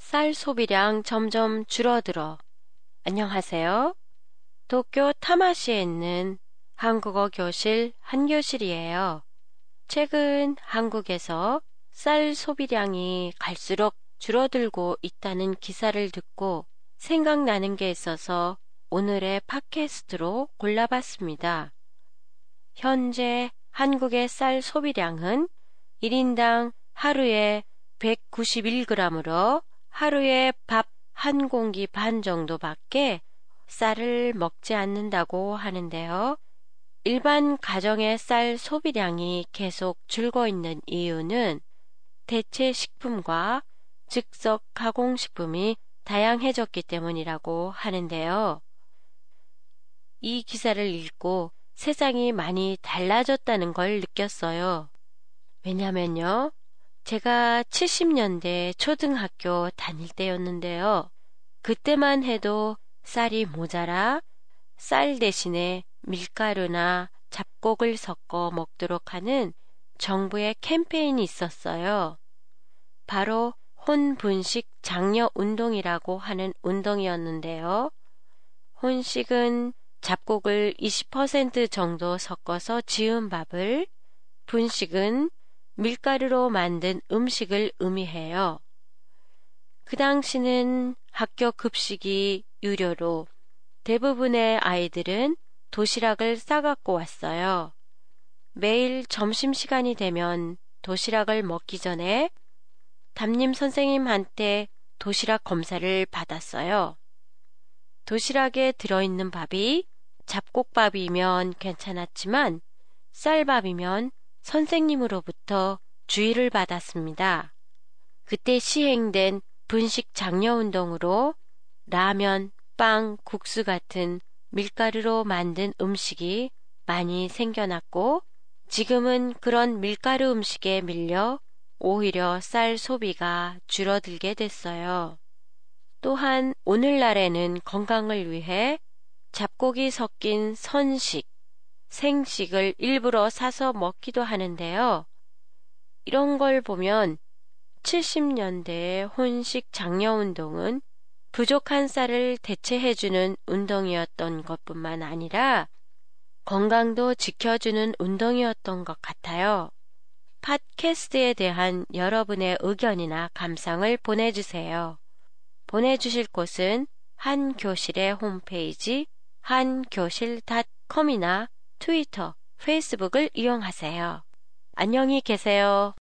쌀 소비량 점점 줄어들어. 안녕하세요. 도쿄 타마시에 있는 한국어 교실 한교실이에요. 최근 한국에서 쌀 소비량이 갈수록 줄어들고 있다는 기사를 듣고 생각나는 게 있어서 오늘의 팟캐스트로 골라봤습니다. 현재 한국의 쌀 소비량은 1인당 하루에 191g으로 하루에 밥 한 공기 반 정도밖에 쌀을 먹지 않는다고 하는데요. 일반 가정의 쌀 소비량이 계속 줄고 있는 이유는 대체 식품과 즉석 가공식품이 다양해졌기 때문이라고 하는데요. 이 기사를 읽고 세상이 많이 달라졌다는 걸 느꼈어요. 왜냐면요. 제가 70년대 초등학교 다닐 때였는데요. 그때만 해도 쌀이 모자라 쌀 대신에 밀가루나 잡곡을 섞어 먹도록 하는 정부의 캠페인이 있었어요. 바로 혼분식 장려 운동이라고 하는 운동이었는데요. 혼식은 잡곡을 20% 정도 섞어서 지은 밥을, 분식은 밀가루로 만든 음식을 의미해요. 그 당시는 학교 급식이 유료로 대부분의 아이들은 도시락을 싸갖고 왔어요. 매일 점심시간이 되면 도시락을 먹기 전에 담임 선생님한테 도시락 검사를 받았어요. 도시락에 들어있는 밥이 잡곡밥이면 괜찮았지만 쌀밥이면 선생님으로부터 주의를 받았습니다. 그때 시행된 분식 장려 운동으로 라면, 빵, 국수 같은 밀가루로 만든 음식이 많이 생겨났고 지금은 그런 밀가루 음식에 밀려 오히려 쌀 소비가 줄어들게 됐어요. 또한 오늘날에는 건강을 위해 잡곡이 섞인 선식, 생식을 일부러 사서 먹기도 하는데요. 이런 걸 보면 70년대의 혼식 장려 운동은 부족한 쌀을 대체해주는 운동이었던 것뿐만 아니라 건강도 지켜주는 운동이었던 것 같아요. 팟캐스트에 대한 여러분의 의견이나 감상을 보내주세요. 보내주실 곳은 한교실의 홈페이지 한교실.com이나 트위터, 페이스북을 이용하세요. 안녕히 계세요.